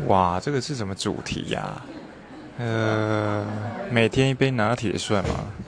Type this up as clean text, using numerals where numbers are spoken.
哇，这个是什么主题呀、每天一杯拿铁算吗？